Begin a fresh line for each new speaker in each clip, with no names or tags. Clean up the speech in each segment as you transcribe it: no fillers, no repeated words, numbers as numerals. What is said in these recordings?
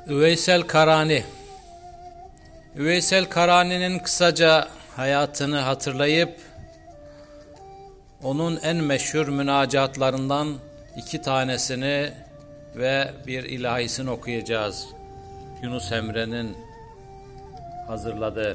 Üveysel Karani. Üveysel Karani'nin kısaca hayatını hatırlayıp onun en meşhur münacatlarından 2 tanesini ve bir ilahisini okuyacağız. Yunus Emre'nin hazırladığı.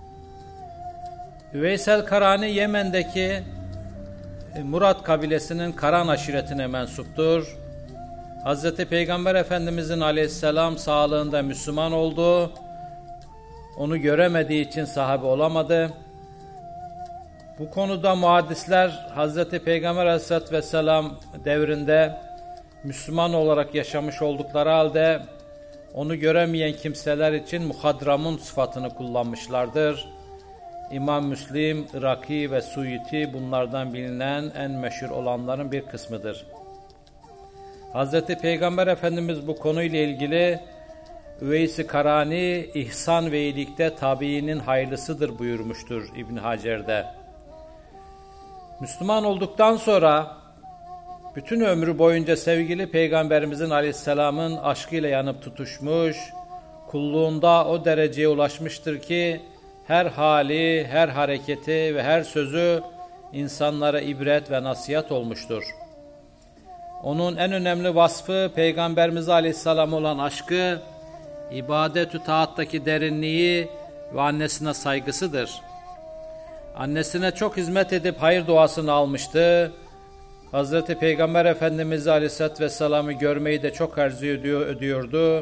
Üveysel Karani Yemen'deki Murat kabilesinin Karan aşiretine mensuptur. Hz. Peygamber Efendimizin aleyhisselam sağlığında Müslüman oldu. Onu göremediği için sahabe olamadı. Bu konuda muhaddisler Hz. Peygamber Aleyhisselatü Vesselam devrinde Müslüman olarak yaşamış oldukları halde onu göremeyen kimseler için muhadramun sıfatını kullanmışlardır. İmam Müslim, Iraki ve Suyuti bunlardan bilinen en meşhur olanların bir kısmıdır. Hz. Peygamber Efendimiz bu konuyla ilgili Üveys-i Karani, ihsan ve iyilikte tabiinin hayırlısıdır buyurmuştur İbn Hacer'de. Müslüman olduktan sonra bütün ömrü boyunca sevgili Peygamberimizin aleyhisselamın aşkıyla yanıp tutuşmuş, kulluğunda o dereceye ulaşmıştır ki her hali, her hareketi ve her sözü insanlara ibret ve nasihat olmuştur. Onun en önemli vasfı Peygamberimiz Aleyhisselam olan aşkı, ibadet-ü taattaki derinliği ve annesine saygısıdır. Annesine çok hizmet edip hayır duasını almıştı. Hazreti Peygamber Efendimiz Aleyhisselatü Vesselam'ı görmeyi de çok arzu ediyordu.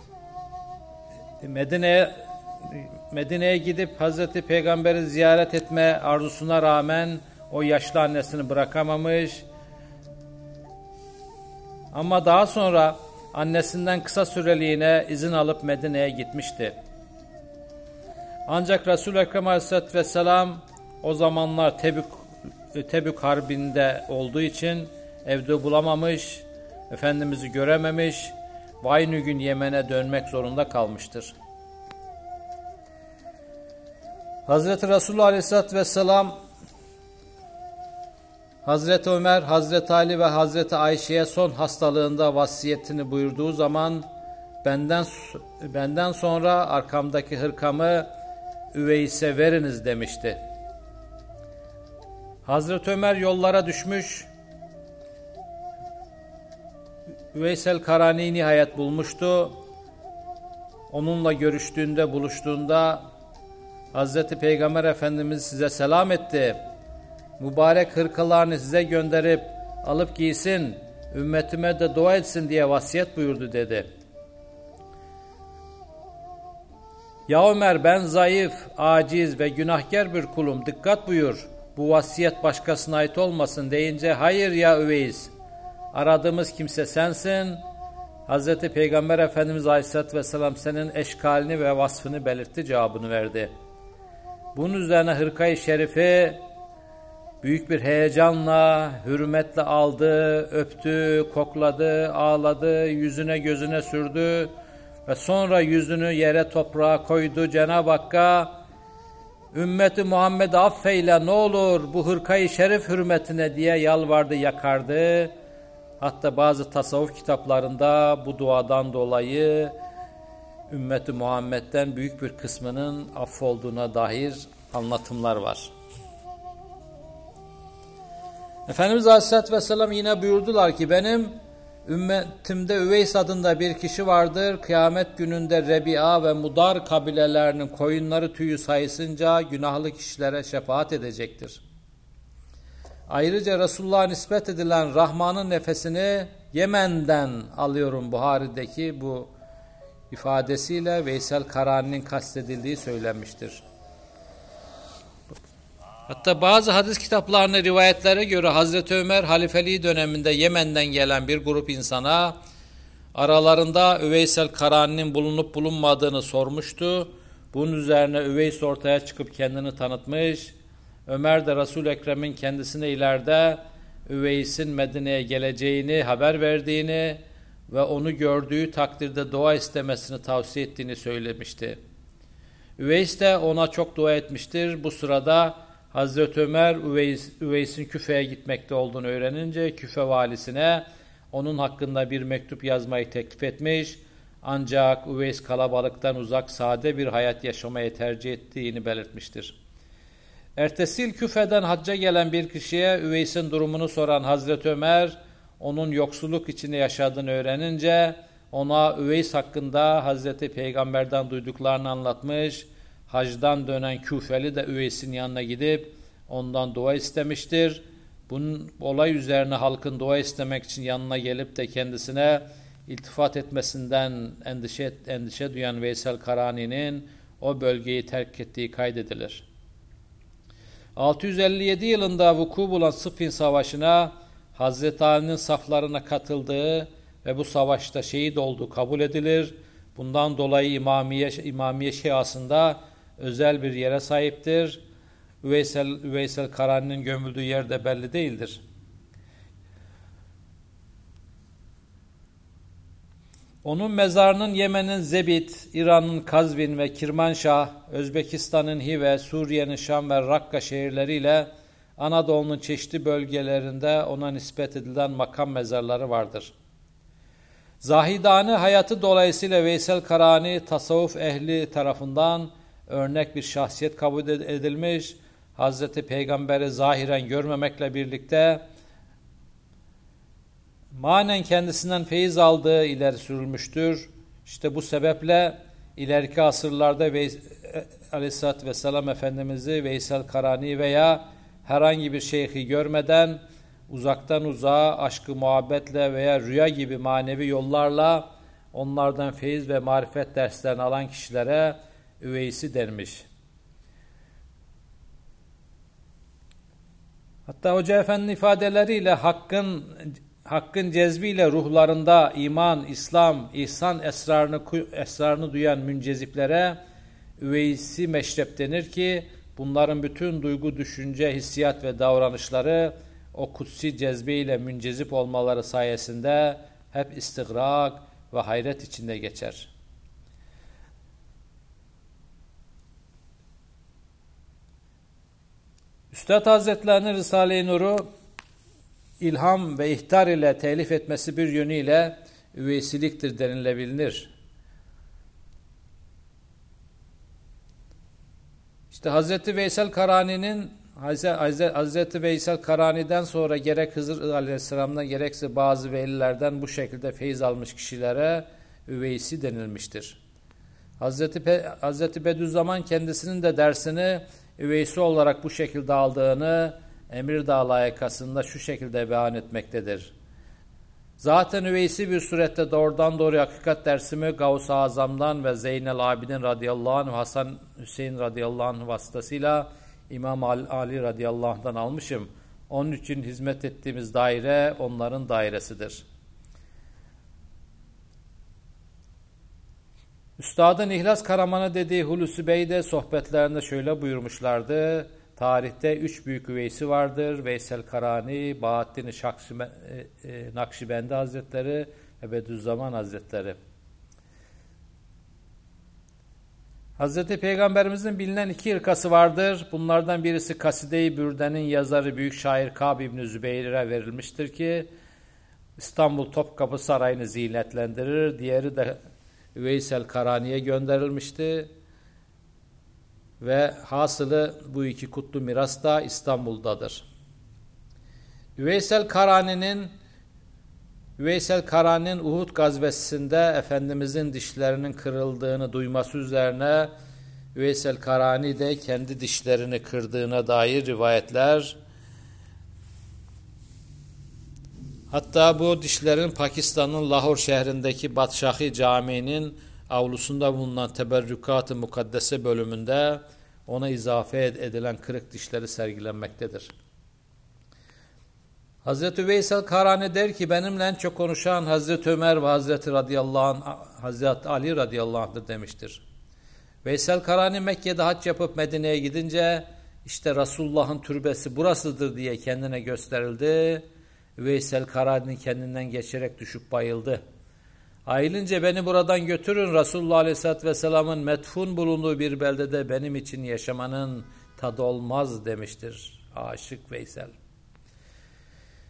Medine'ye gidip Hazreti Peygamber'i ziyaret etme arzusuna rağmen o yaşlı annesini bırakamamış. Ama daha sonra annesinden kısa süreliğine izin alıp Medine'ye gitmişti. Ancak Resul-i Ekrem Aleyhisselatü Vesselam o zamanlar Tebük Harbi'nde olduğu için evde bulamamış, Efendimiz'i görememiş ve aynı gün Yemen'e dönmek zorunda kalmıştır. Hazreti Resulullah Aleyhisselatü Vesselam Hazreti Ömer, Hazreti Ali ve Hazreti Ayşe'ye son hastalığında vasiyetini buyurduğu zaman benden sonra arkamdaki hırkamı Üveys'e veriniz demişti. Hazreti Ömer yollara düşmüş, Üveysel Karani'yi nihayet bulmuştu. Onunla buluştuğunda Hazreti Peygamber Efendimiz size selam etti. Mübarek hırkalarını size gönderip alıp giysin, ümmetime de dua etsin diye vasiyet buyurdu dedi. Ya Ömer, ben zayıf, aciz ve günahkar bir kulum, dikkat buyur. Bu vasiyet başkasına ait olmasın deyince hayır ya Üveys, aradığımız kimse sensin. Hazreti Peygamber Efendimiz Aleyhisselatü Vesselam senin eşkalini ve vasfını belirtti cevabını verdi. Bunun üzerine hırkayı şerifi büyük bir heyecanla, hürmetle aldı, öptü, kokladı, ağladı, yüzüne gözüne sürdü ve sonra yüzünü yere toprağa koydu. Cenab-ı Hakk'a ümmeti Muhammed'i affeyle ne olur bu hırkayı şerif hürmetine diye yalvardı, yakardı. Hatta bazı tasavvuf kitaplarında bu duadan dolayı ümmeti Muhammed'den büyük bir kısmının affolduğuna dair anlatımlar var. Efendimiz Aleyhisselatü Vesselam yine buyurdular ki benim ümmetimde Üveys adında bir kişi vardır. Kıyamet gününde Rebi'a ve Mudar kabilelerinin koyunları tüyü sayısınca günahlı kişilere şefaat edecektir. Ayrıca Resulullah'a nispet edilen Rahman'ın nefesini Yemen'den alıyorum Buhari'deki bu ifadesiyle Veysel Karani'nin kastedildiği söylenmiştir. Hatta bazı hadis kitaplarına rivayetlere göre Hazreti Ömer halifeliği döneminde Yemen'den gelen bir grup insana aralarında Üveysel Karani'nin bulunup bulunmadığını sormuştu. Bunun üzerine Üveys ortaya çıkıp kendini tanıtmış. Ömer de Resul-i Ekrem'in kendisine ileride Üveys'in Medine'ye geleceğini haber verdiğini ve onu gördüğü takdirde dua istemesini tavsiye ettiğini söylemişti. Üveys de ona çok dua etmiştir. Bu sırada Hazreti Ömer Üveys'in Küfe'ye gitmekte olduğunu öğrenince Küfe valisine onun hakkında bir mektup yazmayı teklif etmiş. Ancak Üveys kalabalıktan uzak sade bir hayat yaşamayı tercih ettiğini belirtmiştir. Ertesi yıl Küfe'den hacca gelen bir kişiye Üveys'in durumunu soran Hazreti Ömer, onun yoksulluk içinde yaşadığını öğrenince ona Üveys hakkında Hazreti Peygamber'den duyduklarını anlatmış, hacdan dönen Küfeli de Üveys'in yanına gidip ondan dua istemiştir. Bunun olay üzerine halkın dua istemek için yanına gelip de kendisine iltifat etmesinden endişe duyan Veysel Karani'nin o bölgeyi terk ettiği kaydedilir. 657 yılında vuku bulan Sıffin Savaşı'na Hazreti Ali'nin saflarına katıldığı ve bu savaşta şehit olduğu kabul edilir. Bundan dolayı İmamiye Şiasında özel bir yere sahiptir. Üveysel Karani'nin gömüldüğü yer de belli değildir. Onun mezarının Yemen'in Zebit, İran'ın Kazvin ve Kirmanşah, Özbekistan'ın Hive, Suriye'nin Şam ve Rakka şehirleriyle Anadolu'nun çeşitli bölgelerinde ona nispet edilen makam mezarları vardır. Zahidane hayatı dolayısıyla Veysel Karani tasavvuf ehli tarafından örnek bir şahsiyet kabul edilmiş, Hazreti Peygamber'i zahiren görmemekle birlikte manen kendisinden feyiz aldığı ileri sürülmüştür. İşte bu sebeple ileriki asırlarda Aleyhisselatü Vesselam Efendimiz'i Veysel Karani veya herhangi bir şeyhi görmeden uzaktan uzağa aşkı muhabbetle veya rüya gibi manevi yollarla onlardan feyiz ve marifet derslerini alan kişilere Üveysi denmiş. Hatta Hoca Efendi'nin ifadeleriyle hakkın cezbiyle ruhlarında iman, İslam, ihsan esrarını duyan münceziplere Üveysi meşrep denir ki bunların bütün duygu, düşünce, hissiyat ve davranışları o kutsi cezbeyle müncezip olmaları sayesinde hep istigrak ve hayret içinde geçer. Üstad Hazretlerinin Risale-i Nur'u ilham ve ihtar ile telif etmesi bir yönüyle üveysiliktir denilebilir. İşte Hazreti Veysel Karani'den sonra gerek Hızır Aleyhisselam'dan gerekse bazı velilerden bu şekilde feyiz almış kişilere üveysi denilmiştir. Hazreti Bediüzzaman kendisinin de dersini üveysi olarak bu şekilde aldığını Emir Dağı layıkasında şu şekilde beyan etmektedir. Zaten üveysi bir surette doğrudan doğruya hakikat dersimi Gavs-ı Azam'dan ve Zeynel Abidin radıyallahu anh, Hasan Hüseyin radıyallahu anh vasıtasıyla İmam Ali radıyallahu anh'dan almışım. Onun için hizmet ettiğimiz daire onların dairesidir. Üstadın İhlas Karaman'a dediği Hulusi Bey de sohbetlerinde şöyle buyurmuşlardı. Tarihte 3 büyük üveysi vardır. Veysel Karani, Bahattin-i Nakşibendi Hazretleri ve Bediüzzaman Hazretleri. Hazreti Peygamberimizin bilinen 2 ırkası vardır. Bunlardan birisi Kaside-i Bürde'nin yazarı büyük şair Kâb İbn-i Zübeyr'e verilmiştir ki İstanbul Topkapı Sarayı'nı zinetlendirir. Diğeri de Üveysel Karani'ye gönderilmişti. Ve hasılı bu 2 kutlu miras da İstanbul'dadır. Üveysel Karani'nin Uhud gazvesinde Efendimizin dişlerinin kırıldığını duyması üzerine Üveysel Karani de kendi dişlerini kırdığına dair rivayetler, hatta bu dişlerin Pakistan'ın Lahor şehrindeki Badşahi Camii'nin avlusunda bulunan Teberrükat-ı Mukaddese bölümünde ona izafe edilen kırık dişleri sergilenmektedir. Hazreti Veysel Karani der ki benimle en çok konuşan Hazreti Ömer ve Hazreti Ali radıyallahu anh'dır demiştir. Veysel Karani Mekke'de hac yapıp Medine'ye gidince işte Resulullah'ın türbesi burasıdır diye kendine gösterildi. Veysel Karani kendinden geçerek düşüp bayıldı. Ayılınca beni buradan götürün, Resulullah Aleyhisselatü Vesselam'ın metfun bulunduğu bir beldede benim için yaşamanın tadı olmaz demiştir aşık Veysel.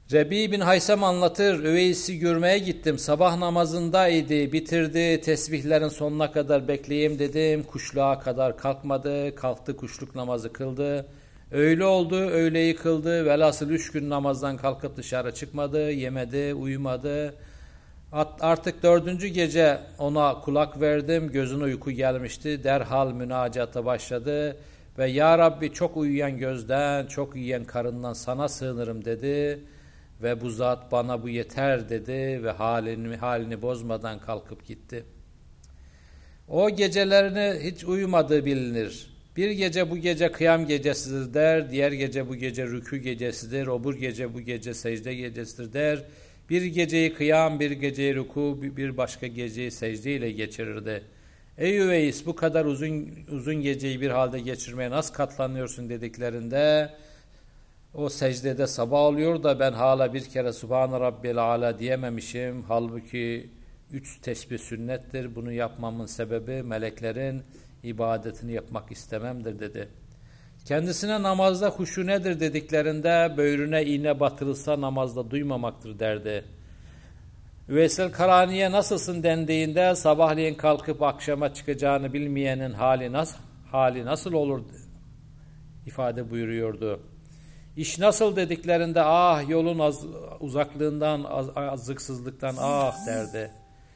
Rebi bin Haysam anlatır, Üveys'i görmeye gittim, sabah namazındaydı, bitirdi, tesbihlerin sonuna kadar bekleyeyim dedim, kuşluğa kadar kalkmadı, kalktı kuşluk namazı kıldı, öğle oldu, öğleyi kıldı, velhasıl 3 gün namazdan kalkıp dışarı çıkmadı, yemedi, uyumadı. Artık 4. gece ona kulak verdim, gözüne uyku gelmişti, derhal münacata başladı ve Ya Rabbi çok uyuyan gözden, çok uyuyan karından sana sığınırım dedi. Ve bu zat bana bu yeter dedi ve halini bozmadan kalkıp gitti. O gecelerini hiç uyumadığı bilinir. Bir gece bu gece kıyam gecesidir der, diğer gece bu gece rükû gecesidir, öbür gece bu gece secde gecesidir der. Bir geceyi kıyam, bir geceyi rükû, bir başka geceyi secde ile geçirirdi. Ey Üveys, bu kadar uzun geceyi bir halde geçirmeye nasıl katlanıyorsun dediklerinde o secdede sabah oluyor da ben hala bir kere Subhane Rabbil Ala diyememişim. Halbuki 3 tesbih sünnettir. Bunu yapmamın sebebi meleklerin ibadetini yapmak istememdir dedi. Kendisine namazda huşu nedir dediklerinde böğrüne iğne batırılsa namazda duymamaktır derdi. Üveysel Karani'ye nasılsın dendiğinde sabahleyin kalkıp akşama çıkacağını bilmeyenin hali nasıl olur ifade buyuruyordu. İş nasıl dediklerinde yolun uzaklığından, azıksızlıktan derdi.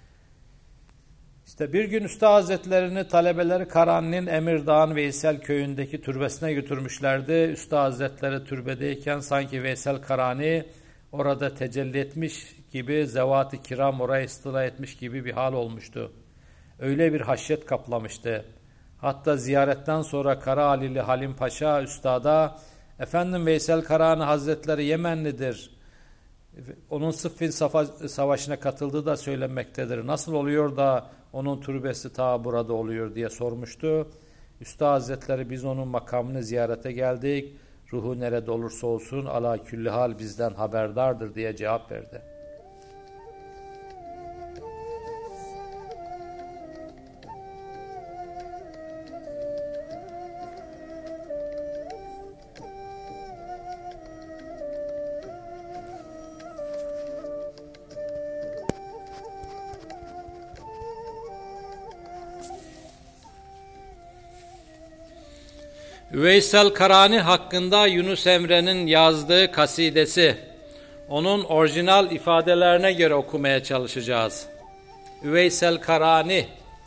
İşte bir gün Üstad Hazretlerini talebeleri Karani'nin Emirdağ'ın Veysel köyündeki türbesine götürmüşlerdi. Üstad Hazretleri türbedeyken sanki Veysel Karani orada tecelli etmiş gibi, zevat-ı kiram oraya istila etmiş gibi bir hal olmuştu. Öyle bir haşyet kaplamıştı. Hatta ziyaretten sonra Karahalili Halim Paşa Üstad'a efendim Veysel Karani Hazretleri Yemenlidir. Onun Sıffin Savaşı'na katıldığı da söylenmektedir. Nasıl oluyor da onun türbesi ta burada oluyor diye sormuştu. Üstad Hazretleri biz onun makamını ziyarete geldik. Ruhu nerede olursa olsun ala külli hal bizden haberdardır diye cevap verdi. Üveysel Karani hakkında Yunus Emre'nin yazdığı kasidesi. Onun orijinal ifadelerine göre okumaya çalışacağız. Üveysel Karani,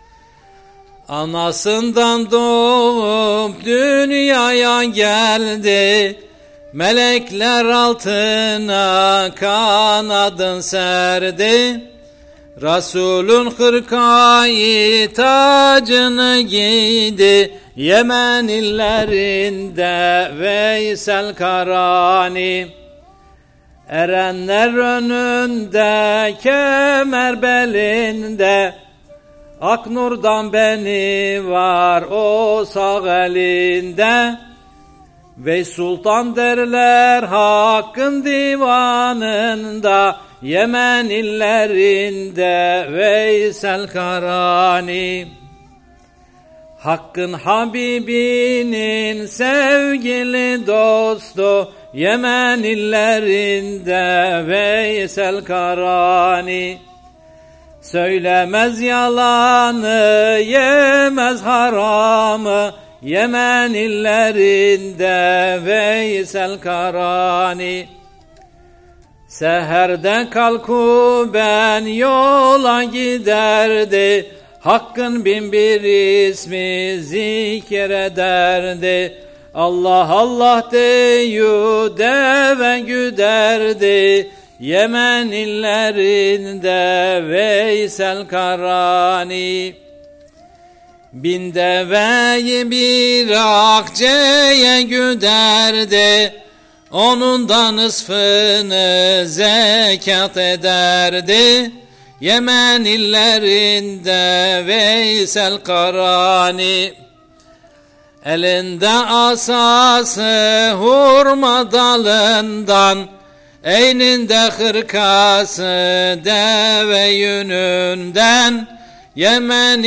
anasından doğup dünyaya geldi, melekler altına kanadın serdi, Resulün hırkayı tacını giydi, Yemen illerinde Veysel Karani. Erenler önünde, kemer belinde, Aknur'dan beni var o sağ elinde. Ve sultan derler hakkın divanında, Yemen illerinde Veysel Karani. Hakkın Habibinin sevgili dostu, Yemen illerinde Veysel Karani. Söylemez yalanı, yemez haramı, Yemen illerinde Veysel Karani. Seherde kalkıp ben yola giderdi, Hakkın bin bir ismi zikrederdi. Allah Allah deyü deve güderdi, Yemen illerinde Veysel Karani. Bin deveyi bir akçeye güderdi, onun da nısfını zekat ederdi. Yemen illerinde Veysel Karani. Elinde asası hurma dalından, eyninde hırkası deve yününden, Yemen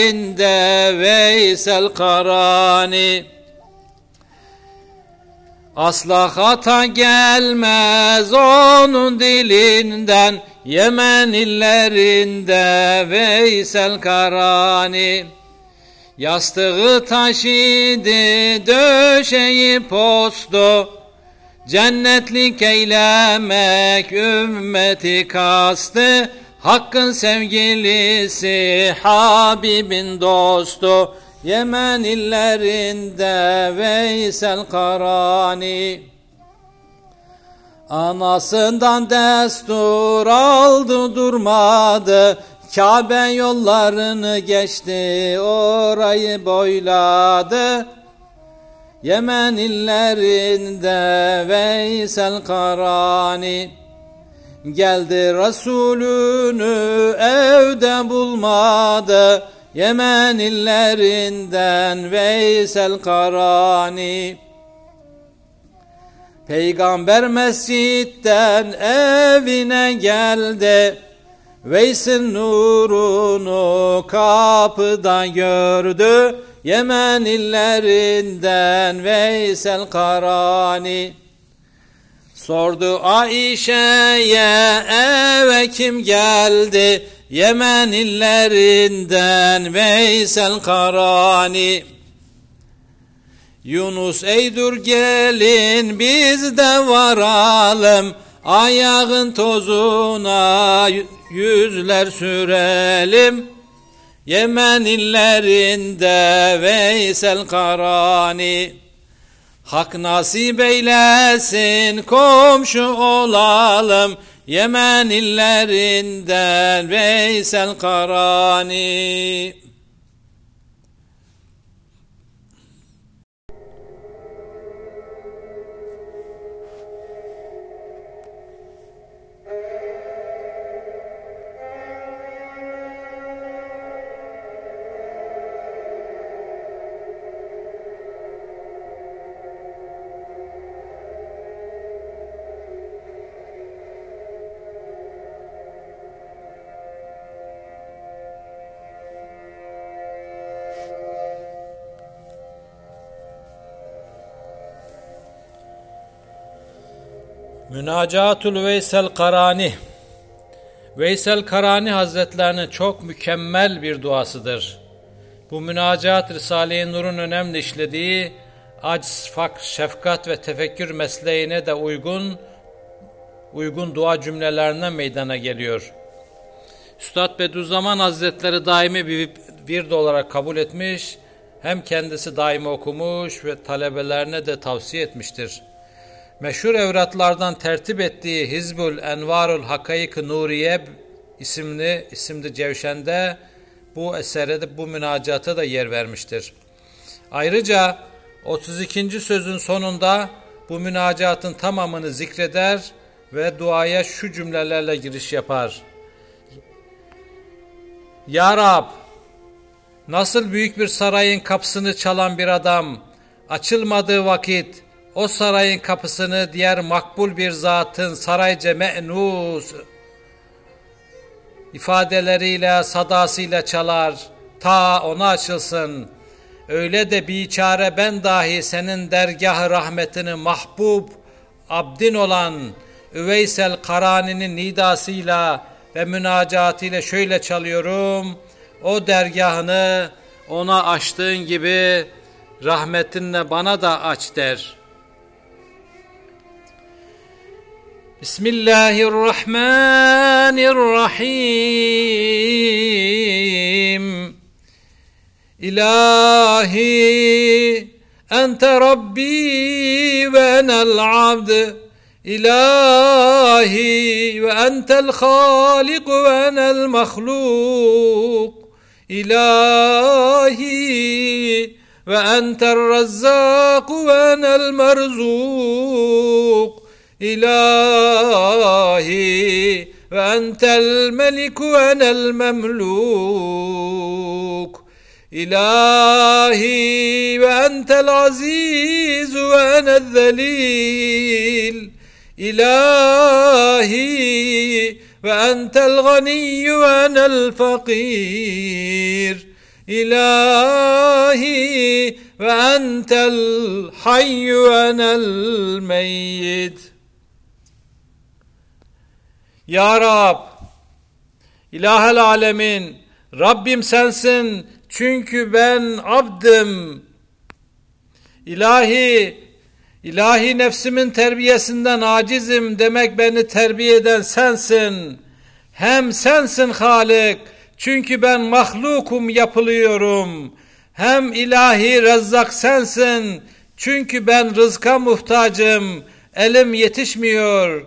illerinde Veysel Karani. Asla hata gelmez onun dilinden, Yemen illerinde Veysel Karani. Yastığı taş idi, döşeği postu, cennetlik eylemek ümmeti kastı, Hakkın sevgilisi, Habibin dostu, Yemen illerinde Veysel Karani. Anasından destur aldı durmadı, Kabe yollarını geçti, orayı boyladı, Yemen illerinde Veysel Karani. Geldi Resulünü evde bulmadı, Yemen illerinden Veysel Karani. Peygamber mescitten evine geldi, Veys'in nurunu kapıda gördü, Yemen illerinden Veysel Karani. Sordu Ayşe'ye, eve kim geldi? Yemen illerinden Veysel Karani. Yunus ey dur gelin biz de varalım, ayağın tozuna yüzler sürelim, Yemen illerinde Veysel Karani. Hak nasip eylesin komşu olalım, Yemen illerinden Veysel Karani. Münacatul Veysel Karani. Veysel Karani Hazretlerinin çok mükemmel bir duasıdır. Bu münacat Risale-i Nur'un önemli işlediği aciz, fakr, şefkat ve tefekkür mesleğine de uygun dua cümlelerinden meydana geliyor. Üstad Bediüzzaman Hazretleri daimi bir vird olarak kabul etmiş, hem kendisi daimi okumuş ve talebelerine de tavsiye etmiştir. Meşhur evratlardan tertip ettiği Hizbul Envarul Hakayık-ı Nuriye isimli cevşende bu esere de bu münacata da yer vermiştir. Ayrıca 32. sözün sonunda bu münacatın tamamını zikreder ve duaya şu cümlelerle giriş yapar. Ya Rab, nasıl büyük bir sarayın kapısını çalan bir adam açılmadığı vakit o sarayın kapısını diğer makbul bir zatın sarayca me'nus ifadeleriyle, sadasıyla çalar, ta ona açılsın. Öyle de biçare ben dahi senin dergah-ı rahmetini mahbub abdin olan Üveysel Karani'nin nidasıyla ve münacatıyla şöyle çalıyorum. O dergahını ona açtığın gibi rahmetinle bana da aç der. Bismillahirrahmanirrahim. İlahi ente Rabbi ve enel abd. İlahi ve entel halik ve enel mahluk. İlahi ve entel razzak ve enel merzuk. İlahi ve entel melik ve enel memluk. İlahi ve entel aziz ve enel zelil. İlahi ve entel ganiy ve enel fakir. ilahi ve entel hayyu ve enel meyyit. Ya Rab, İlahel alemin, Rabbim sensin çünkü ben abdım. İlahi nefsimin terbiyesinden acizim demek beni terbiye eden sensin. Hem sensin Halik çünkü ben mahlukum yapılıyorum. Hem ilahi Rezzak sensin çünkü ben rızka muhtacım, elim yetişmiyor.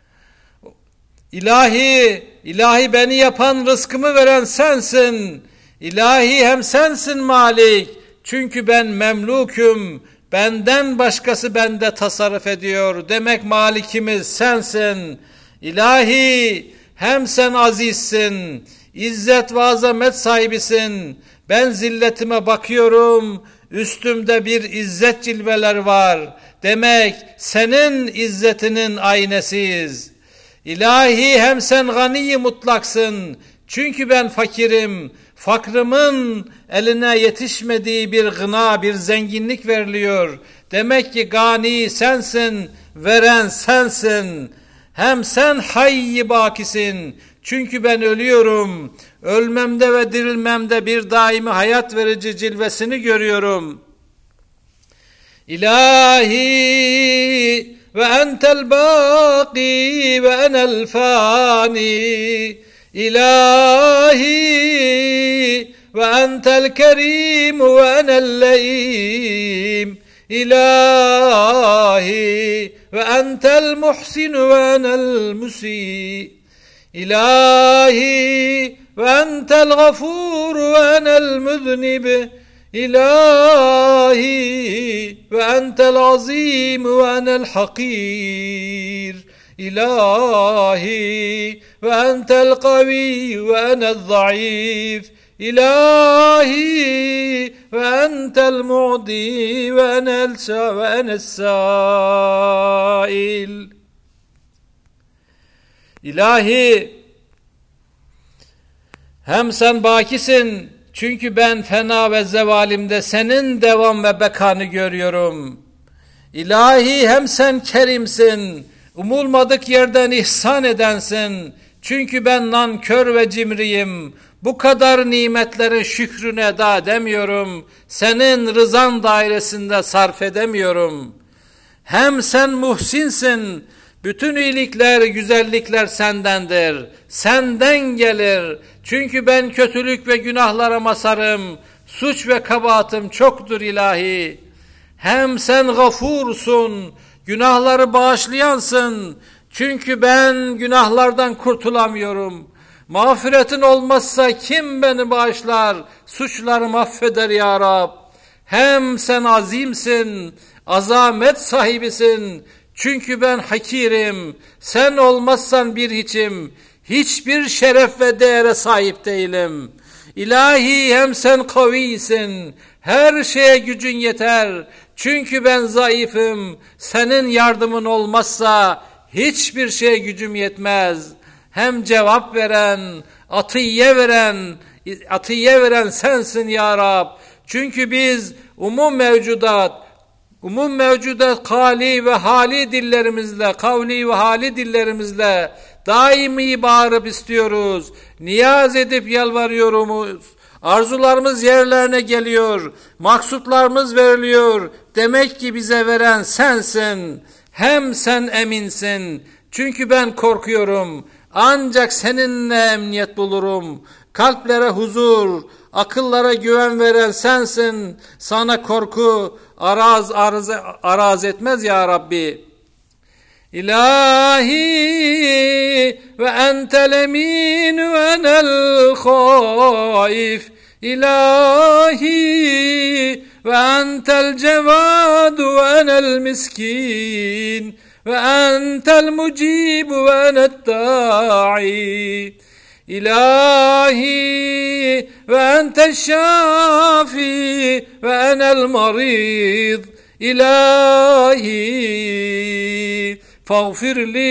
İlahi beni yapan, rızkımı veren sensin. İlahi hem sensin Malik çünkü ben memlukum, benden başkası bende tasarruf ediyor. Demek malikimiz sensin. İlahi hem sen azizsin, izzet ve azamet sahibisin. Ben zilletime bakıyorum, üstümde bir izzet cilveler var. Demek senin izzetinin aynesiyiz. İlahi hem sen gani mutlaksın. Çünkü ben fakirim. Fakrımın eline yetişmediği bir gına, bir zenginlik veriliyor. Demek ki gani sensin, veren sensin. Hem sen hayy-i bakisin. Çünkü ben ölüyorum. Ölmemde ve dirilmemde bir daimi hayat verici cilvesini görüyorum. İlahi ve entel baki ve enel fani. İlahi ve entel kerim ve enel leim. İlahi ve entel muhsin ve enel musi. İlahi ve entel gafur ve enel müznib. İlahi ve entel azim ve enel hakir. İlahi ve entel kavi ve enel zayıf. İlahi ve entel mu'di ve enel sail. İlahi hem sen bakisin çünkü ben fena ve zevalimde senin devam ve bekanı görüyorum. İlahi hem sen kerimsin, umulmadık yerden ihsan edensin. Çünkü ben nankör ve cimriyim. Bu kadar nimetlerin şükrünü eda edemiyorum. Senin rızan dairesinde sarf edemiyorum. Hem sen muhsinsin. Bütün iyilikler, güzellikler sendendir. Senden gelir. Çünkü ben kötülük ve günahlara masarım. Suç ve kabahatım çoktur ilahi. Hem sen gafursun. Günahları bağışlayansın. Çünkü ben günahlardan kurtulamıyorum. Mağfiretin olmazsa kim beni bağışlar? Suçlarımı affeder ya Rab. Hem sen azimsin, azamet sahibisin. Çünkü ben hakirim. Sen olmazsan bir hiçim. Hiçbir şeref ve değere sahip değilim. İlahi hem sen kavisin. Her şeye gücün yeter. Çünkü ben zayıfım. Senin yardımın olmazsa hiçbir şeye gücüm yetmez. Hem cevap veren, atiye veren sensin ya Rab. Çünkü biz umum mevcudat kavli ve hali dillerimizle daimi bağırıp istiyoruz. Niyaz edip yalvarıyoruz. Arzularımız yerlerine geliyor. Maksutlarımız veriliyor. Demek ki bize veren sensin. Hem sen eminsin. Çünkü ben korkuyorum. Ancak seninle emniyet bulurum. Kalplere huzur, akıllara güven veren sensin. Sana korku araz etmez ya Rabbi. İlahi ve entel emin ve enel haif. İlahi ve entel cevad ve enel miskin. Ve entel mucib ve enet da'i. İlahi ve entel şafi ve enel marid. İlahi فاغفر لي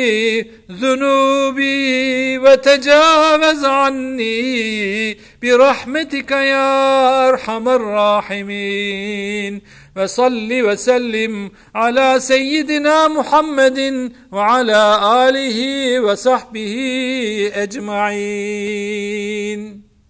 ذنوبي وتجاوز عني برحمتك يا أرحم الراحمين وصل وسلم على سيدنا محمد وعلى آله وصحبه أجمعين.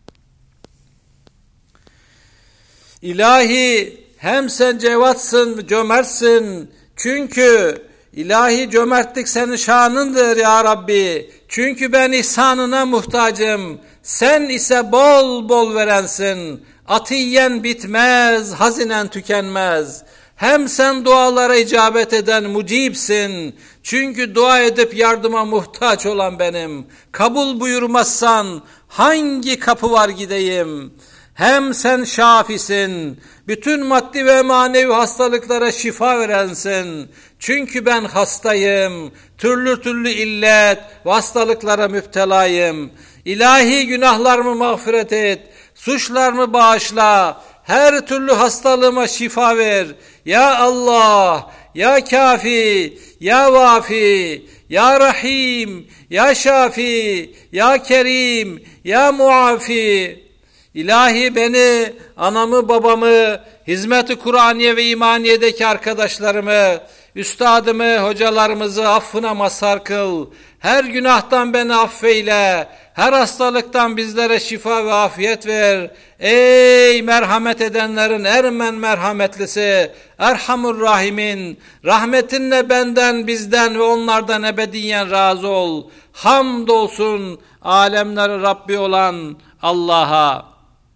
İlahi, hem sen cevatsın, cömertsin. Çünkü ilahi cömertlik senin şanındır ya Rabbi. Çünkü ben ihsanına muhtacım. Sen ise bol bol verensin. Atiyen bitmez, hazinen tükenmez. Hem sen dualara icabet eden mucibsin. Çünkü dua edip yardıma muhtaç olan benim. Kabul buyurmazsan hangi kapı var gideyim? Hem sen şafisin, bütün maddi ve manevi hastalıklara şifa verensin. Çünkü ben hastayım, türlü türlü illet ve hastalıklara müptelayım. İlahi günahlarımı mağfiret et, suçlarımı bağışla, her türlü hastalığıma şifa ver. Ya Allah, ya Kafi, ya Vafi, ya Rahim, ya Şafi, ya Kerim, ya Muafi. İlahi beni, anamı, babamı, hizmet-i Kur'aniye ve imaniyedeki arkadaşlarımı, üstadımı, hocalarımızı affına mazhar kıl. Her günahtan beni affeyle. Her hastalıktan bizlere şifa ve afiyet ver. Ey merhamet edenlerin ermen merhametlisi, Erhamur Rahimin, rahmetinle benden, bizden ve onlardan ebediyen razı ol. Hamdolsun alemlerin Rabbi olan Allah'a.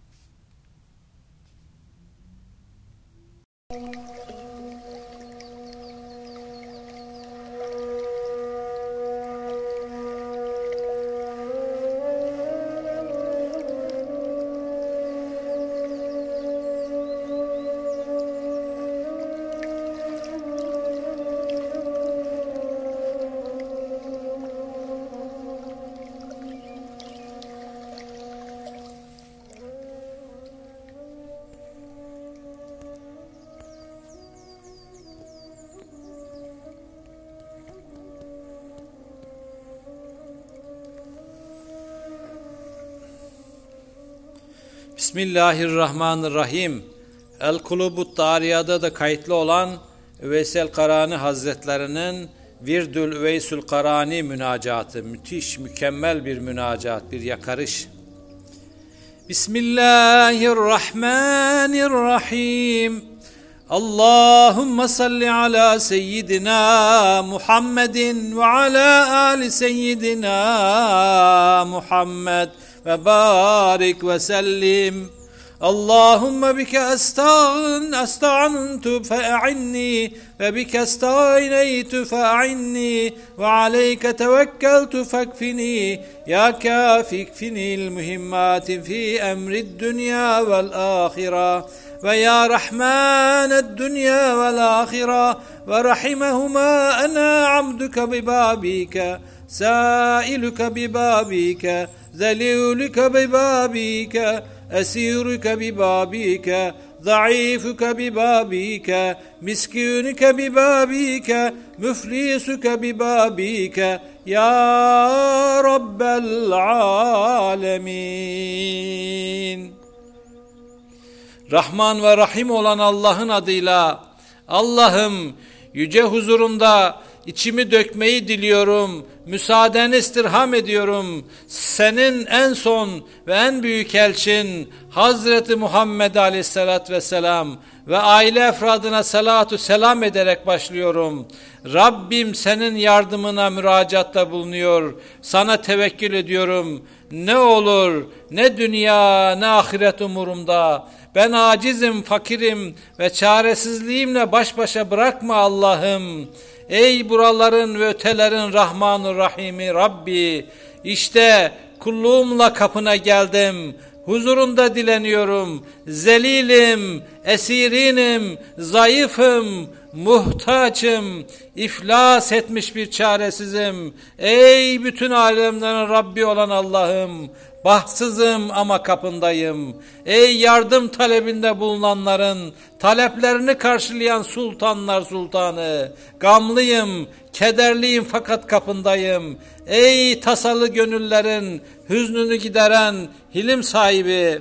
Bismillahirrahmanirrahim. El-Kulubut Dariya'da da kayıtlı olan Üveysel Karani Hazretlerinin Virdül Üveysül Karani münacatı. Müthiş, mükemmel bir münacat, bir yakarış. Bismillahirrahmanirrahim. Allahümme salli ala seyyidina Muhammedin ve ala ali seyyidina Muhammed ve barik ve sellim. Allahümme bike esta'antu fe'inni ve bike esta'ineytu fe'inni ve aleyke tevekkeltu fekfini ya kafikfinil mühimmati fi emrid dünya vel ahire ve ya rahmaned dünya vel ahire ve rahimehuma ana abduke bibabike sailuke bibabike ذليلك ببابك أسيرك ببابك ضعيفك ببابك مسكينك ببابك مفلسك ببابك يا رب العالمين. Rahman ve Rahim olan Allah'ın adıyla, Allah'ım yüce huzurunda İçimi dökmeyi diliyorum, müsaadeni istirham ediyorum. Senin en son ve en büyük elçin Hazreti Muhammed Aleyhisselatü Vesselam ve aile efradına salatu selam ederek başlıyorum. Rabbim senin yardımına müracaatta bulunuyor. Sana tevekkül ediyorum. Ne olur, ne dünya, ne ahiret umurumda. Ben acizim, fakirim ve çaresizliğimle baş başa bırakma Allah'ım. Ey buraların ve ötelerin Rahmanur Rahimi Rabbi, işte kulluğumla kapına geldim, huzurunda dileniyorum, zelilim, esirinim, zayıfım, muhtaçım, iflas etmiş bir çaresizim. Ey bütün alemlerin Rabbi olan Allah'ım, bahtsızım ama kapındayım. Ey yardım talebinde bulunanların taleplerini karşılayan sultanlar sultanı, gamlıyım, kederliyim fakat kapındayım. Ey tasalı gönüllerin hüznünü gideren hilim sahibi,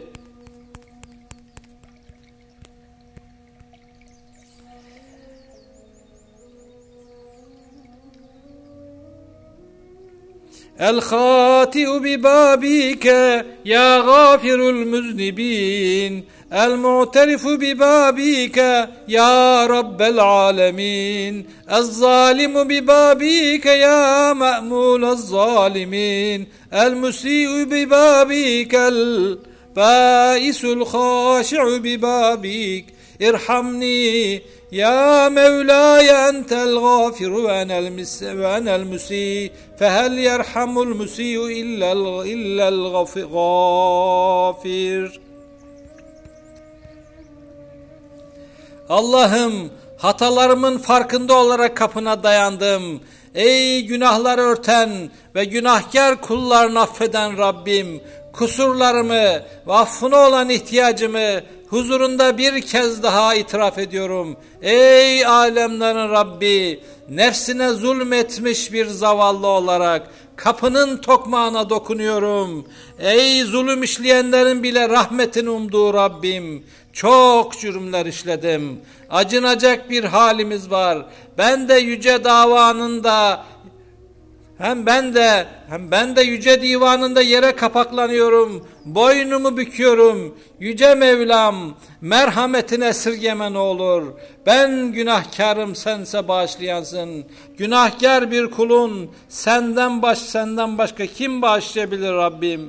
الخاطئ ببابك يا غافر المذنبين المعترف ببابك يا رب العالمين الظالم ببابك يا مأمول الظالمين المسيء ببابك البائس الخاشع ببابك ارحمني يا مولاي أنت الغافر وأنا المسيء فهل يرحم المسيء إلا الغافر. Allah'ım, hatalarımın farkında olarak kapına dayandım. Ey günahları örten ve günahkar kullarını affeden Rabbim, kusurlarımı ve affına olan ihtiyacımı huzurunda bir kez daha itiraf ediyorum. Ey alemlerin Rabbi, nefsine zulmetmiş bir zavallı olarak kapının tokmağına dokunuyorum. Ey zulüm işleyenlerin bile rahmetini umduğu Rabbim, çok cürümler işledim. Acınacak bir halimiz var. Ben de yüce davanında Hem ben de yüce divanında yere kapaklanıyorum, boynumu büküyorum. Yüce Mevlam, merhametine esirgeme ne olur. Ben günahkarım, sense bağışlayansın. Günahkar bir kulun senden başka kim bağışlayabilir Rabbim?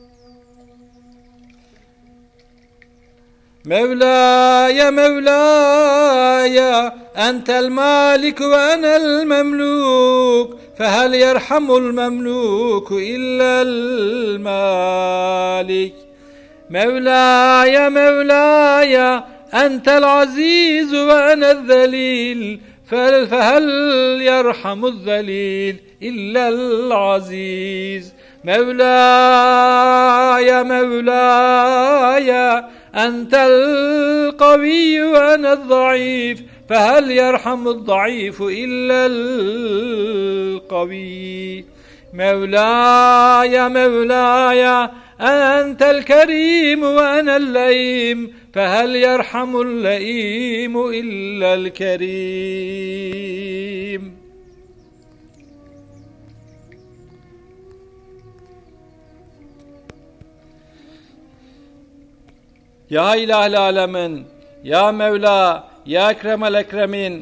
Mevlaya Mevlaya entel malik ve enel memluk fehel yerhamul memluku illel malik. Mevlaya Mevlaya entel aziz ve enel zelil fehel yerhamul zelil illel aziz. Mevlaya Mevlaya أنت القوي وأنا الضعيف فهل يرحم الضعيف إلا القوي. مولاي مولاي أنت الكريم وأنا اللئيم فهل يرحم اللئيم إلا الكريم. Ya İlahil Alemin, Ya Mevla, Ya Ekremel Ekremin.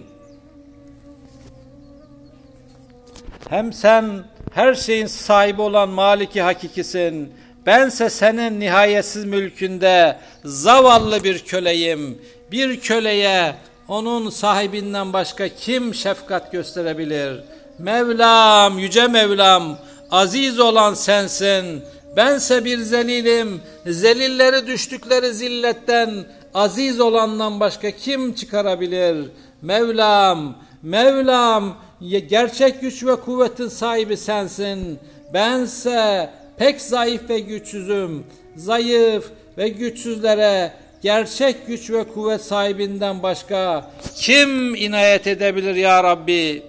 Hem sen her şeyin sahibi olan Maliki Hakikisin. Bense senin nihayetsiz mülkünde zavallı bir köleyim. Bir köleye onun sahibinden başka kim şefkat gösterebilir? Mevlam, yüce Mevlam, aziz olan sensin. Bense bir zelilim, zelilleri düştükleri zilletten aziz olandan başka kim çıkarabilir? Mevlam, Mevlam, gerçek güç ve kuvvetin sahibi sensin. Bense pek zayıf ve güçsüzüm. Zayıf ve güçsüzlere gerçek güç ve kuvvet sahibinden başka kim inayet edebilir ya Rabbi?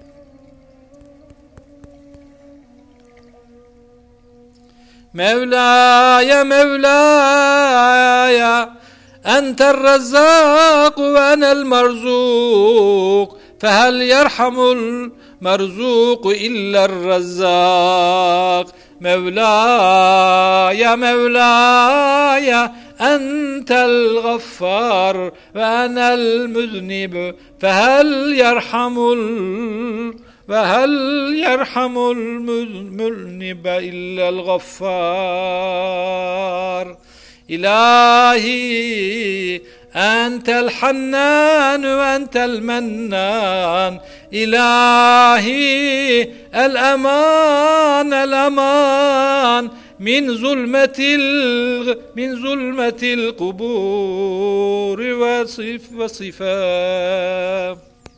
Mevlaya Mevlaya entel rezzak ve enel merzuk fehel yerhamul merzuk iller rezzak. Mevlaya Mevlaya entel gaffar ve enel müznib fehel yerhamul وهل يرحم المذنب إلا الغفار. إلهي أنت الحنان وأنت المنان. إلهي الأمان الأمان من ظلمة القبور وصفات.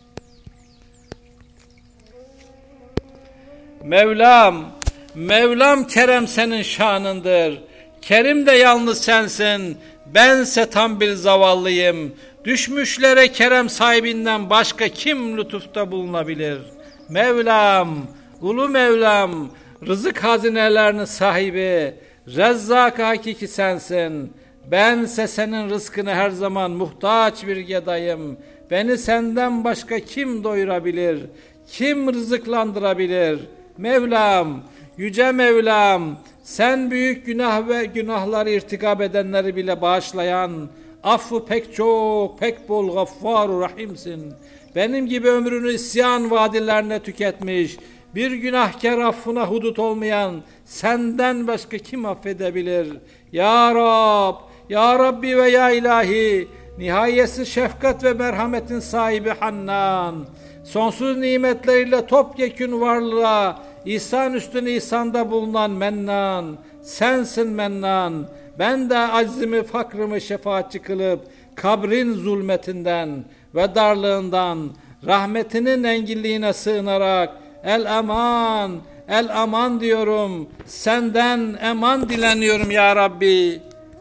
Mevlam, Mevlam kerem senin şanındır. Kerim de yalnız sensin. Bense tam bir zavallıyım. Düşmüşlere kerem sahibinden başka kim lütufta bulunabilir? Mevlam, ulu Mevlam, rızık hazinelerinin sahibi, Rezzak hakiki sensin. Bense senin rızkını her zaman muhtaç bir gedayım. Beni senden başka kim doyurabilir? Kim rızıklandırabilir? Mevlam, yüce Mevlam, sen büyük günah ve günahları irtikab edenleri bile bağışlayan, affı pek çok, pek bol Gaffar-ı Rahimsin. Benim gibi ömrünü isyan vadilerine tüketmiş, bir günahkar affına hudut olmayan senden başka kim affedebilir? Ya Rab, Ya Rabbi ve Ya İlahi, nihayetsiz şefkat ve merhametin sahibi Hannan, sonsuz nimetleriyle topyekün varlığa İhsan üstüne ihsanda bulunan Mennan, sensin Mennan. Ben de aczimi, fakrımı şefaatçi kılıp kabrin zulmetinden ve darlığından rahmetinin enginliğine sığınarak el aman, el aman diyorum. Senden eman dileniyorum ya Rabbi.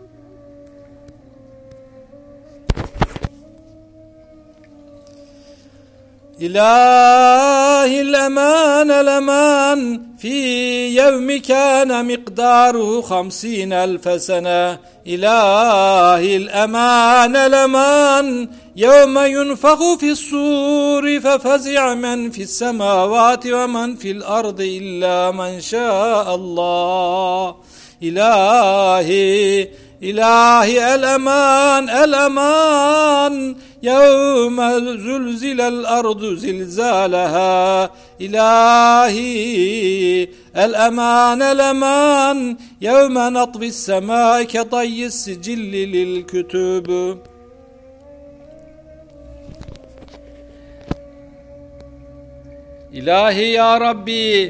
إلهي الأمان الأمان في يوم كان مقداره 50,000 سنة إلهي الأمان الأمان يوم ينفخ في الصور ففزع من في السماوات ومن في الأرض إلا من شاء الله إلهي الأمان الأمان يوم زلزل الأرض زلزالها إلهي الأمان الأمان يوم نطوي السماء كطي السجل للكتب. İlahi ya Rabbi,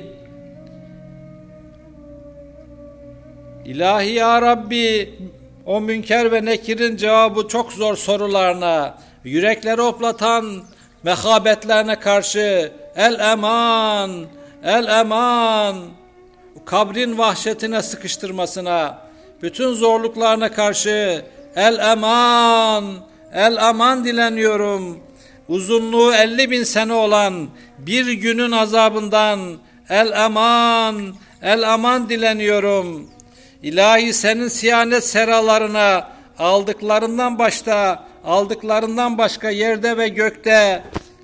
İlahi ya Rabbi, o Münker ve Nekir'in cevabı çok zor sorularına, yürekleri hoplatan mehabetlerine karşı el eman, el eman, kabrin vahşetine sıkıştırmasına, bütün zorluklarına karşı el eman, el aman dileniyorum. Uzunluğu 50.000 sene olan bir günün azabından el aman dileniyorum. İlahi senin siyanet seralarına aldıklarından başka yerde ve gökte,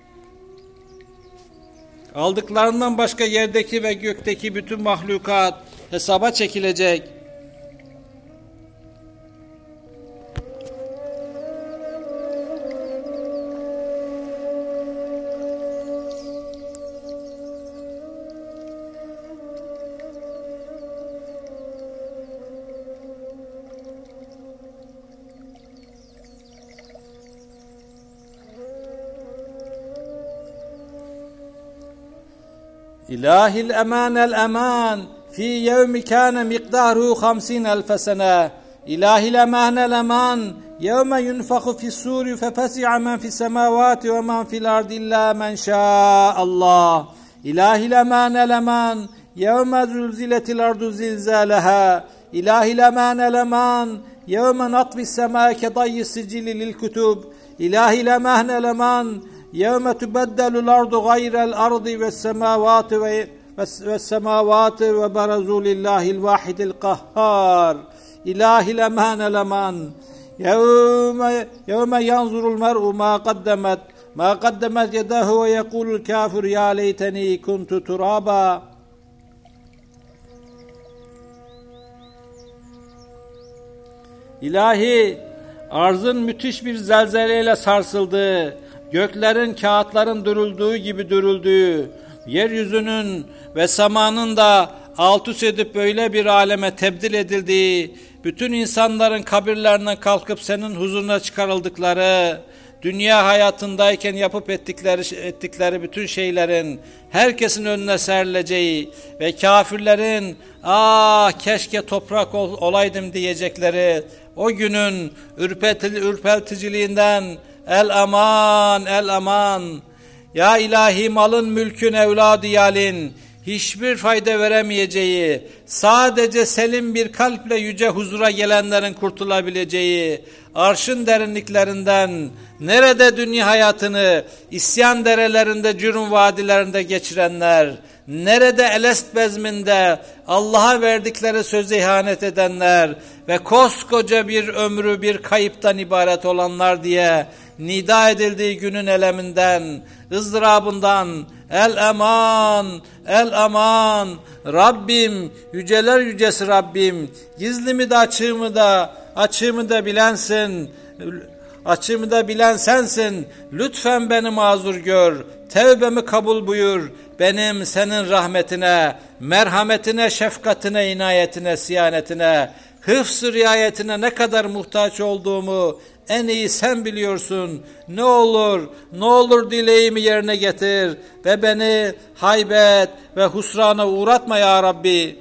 aldıklarından başka yerdeki ve gökteki bütün mahlukat hesaba çekilecek. إلهي الأمان الأمان في يوم كان مقداره 50,000 سنة إلهي الأمان الأمان يوم ينفخ في الصور ففزع من في السماوات ومن في الأرض إلا من شاء الله إلهي الأمان الأمان يوم زلزلت الأرض زلزالها إلهي الأمان الأمان يوم نطوي السماء كطي السجل للكتب إلهي الأمان الأمان يوم تبدل الأرض غير الأرض والسماوات وبرزوا لله الواحد القهار إلهي الأمان الأمان يوم ينظر المرء ما قدمت يداه ويقول الكافر يا ليتني كنت ترابا. İlahi, arzın müthiş bir zelzeleyle sarsıldığı, göklerin, kağıtların dürüldüğü gibi dürüldüğü, yeryüzünün ve semanın da alt üst edip böyle bir aleme tebdil edildiği, bütün insanların kabirlerinden kalkıp senin huzuruna çıkarıldıkları, dünya hayatındayken yapıp ettikleri bütün şeylerin herkesin önüne serileceği ve kafirlerin keşke toprak olaydım diyecekleri o günün ürperticiliğinden el aman, el aman. Ya ilahi malın mülkün evladı yalin, hiçbir fayda veremeyeceği, sadece selim bir kalple yüce huzura gelenlerin kurtulabileceği, arşın derinliklerinden, nerede dünya hayatını, isyan derelerinde, cürüm vadilerinde geçirenler, nerede elest bezminde Allah'a verdikleri söze ihanet edenler ve koskoca bir ömrü bir kayıptan ibaret olanlar diye nida edildiği günün eleminden, ızdırabından, el eman, el eman, Rabbim, yüceler yücesi Rabbim, gizlimi de açığımı da bilensin, açığımı da bilen sensin, lütfen beni mazur gör, tevbemi kabul buyur, benim senin rahmetine, merhametine, şefkatine, inayetine, siyanetine, hıfz-ı riayetine ne kadar muhtaç olduğumu en iyi sen biliyorsun. Ne olur dileğimi yerine getir ve beni haybet ve husrana uğratma ya Rabbi.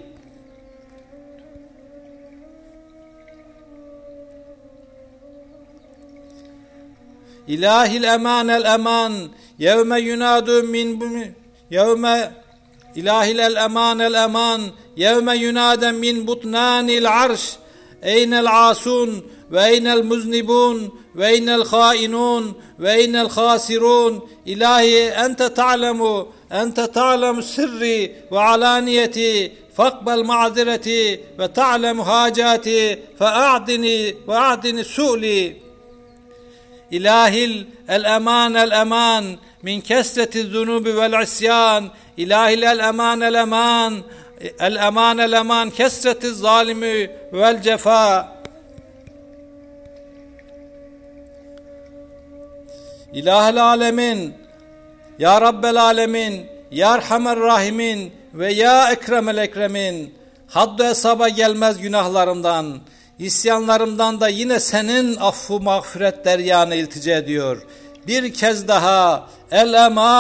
İlahil eman el eman yevme yunadu min yevme İlahil el eman yevme yunaden min butnanil arş eynel asun ve eynel muznibun ve eynel hainun ve eynel khasirun. İlahi ente ta'lemu sirri ve alaniyeti fakbel ma'zireti ve ta'lemu hacati fe'a'dini su'li. İlahil el eman min kesreti zunubi vel isyan. İlahil el eman kesreti zalimi vel cefa. İlahel alemin, ya Rabbel alemin, ya Erhamer rahimin ve ya Ekremel ekremin. Haddu hesaba gelmez günahlarımdan, isyanlarımdan da yine senin affu mağfiret deryana iltica ediyor. Bir kez daha el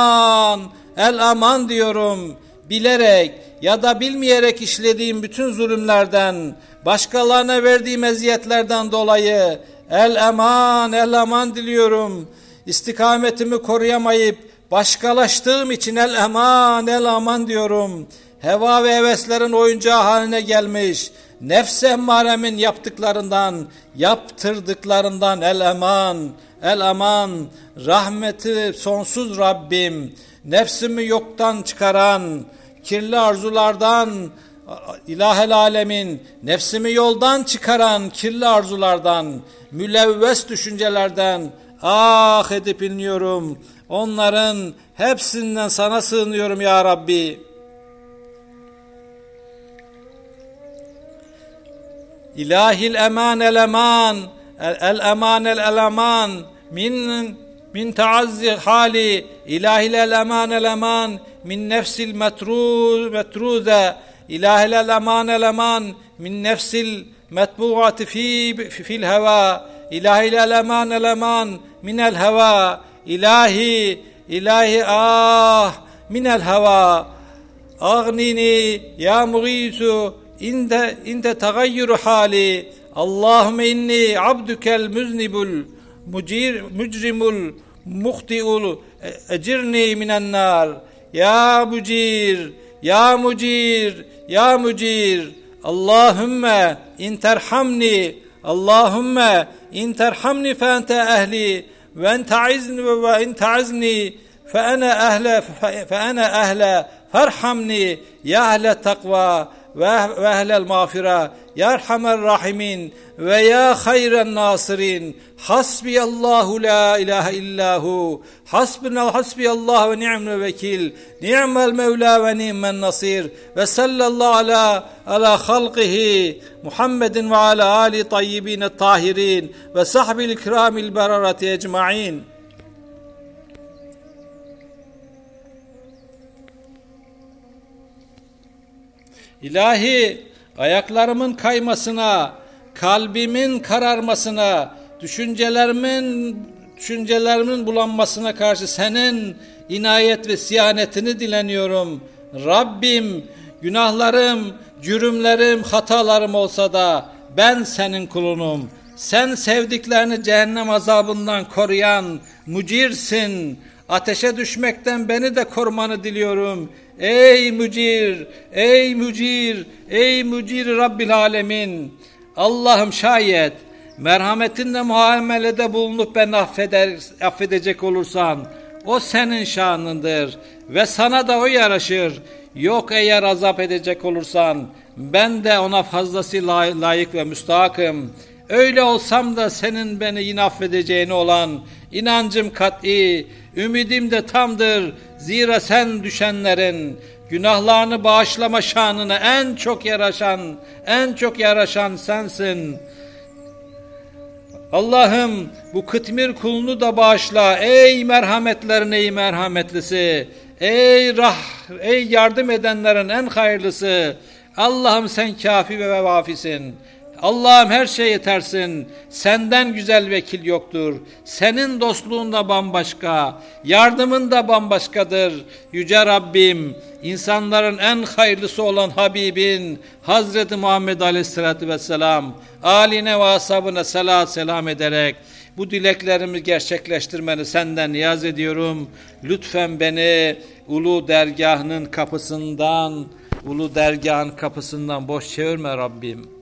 eman diyorum. Bilerek ya da bilmeyerek işlediğim bütün zulümlerden, başkalarına verdiğim eziyetlerden dolayı el eman diliyorum. İstikametimi koruyamayıp başkalaştığım için el eman diyorum. Heva ve heveslerin oyuncağı haline gelmiş, nefs-i emmaremin yaptırdıklarından el eman, rahmeti sonsuz Rabbim, nefsimi yoktan çıkaran, kirli arzulardan, İlahel alemin, nefsimi yoldan çıkaran kirli arzulardan, mülevves düşüncelerden edip inliyorum. Onların hepsinden sana sığınıyorum ya Rabbi. İlahil eman el eman min taazzi hali. İlahil el eman min nefsil metruze. İlahil el eman min nefsil metbuati fil heva. İlahil el eman minel heva. İlahi minel heva. Aghnini ya mughisu inde tagayyuru hali. Allahümme inni abdukel müznibul mücrimul muhtiul ecirni minen nar. Ya mucir Allahümme interhamni fe ente ehli ve ente a'izni fe ene ehle farhamni ya ehle takva ve ehlel mağfira ya erhamer rahimin ve ya hayren nasirin. Hasbiyallahu la ilahe illahu hasbiyallahu ve ni'mel vekil ni'mel mevla ve ni'men nasir ve sallallahu ala halqihi Muhammedin ve ala ali tayyibin tahirin ve sahbil ikramil berarati ecmaîn. İlahi, ayaklarımın kaymasına, kalbimin kararmasına, düşüncelerimin bulanmasına karşı senin inayet ve siyanetini dileniyorum. Rabbim, günahlarım, cürümlerim, hatalarım olsa da ben senin kulunum. Sen sevdiklerini cehennem azabından koruyan mucirsin. Ateşe düşmekten beni de korumanı diliyorum. Ey mücir, ey mücir, ey mücir Rabbil Alemin. Allah'ım şayet merhametinle muamelede bulunup ben affedecek olursan o senin şanındır ve sana da o yaraşır. Yok eğer azap edecek olursan ben de ona fazlasıyla layık ve müstahakım. Öyle olsam da senin beni yine affedeceğine olan inancım kat'i, ümidim de tamdır. Zira sen düşenlerin günahlarını bağışlama şanına en çok yaraşan sensin. Allah'ım bu kıtmir kulunu da bağışla. Ey merhametlerin ey merhametlisi. Ey yardım edenlerin en hayırlısı. Allah'ım sen kafi ve vafisin. Allah'ım her şeye yetersin. Senden güzel vekil yoktur. Senin dostluğun da bambaşka. Yardımın da bambaşkadır. Yüce Rabbim, insanların en hayırlısı olan Habibin Hazreti Muhammed Aleyhisselatü Vesselam âline ve ashabına selam ederek bu dileklerimi gerçekleştirmeni senden niyaz ediyorum. Lütfen beni ulu dergahın kapısından boş çevirme Rabbim.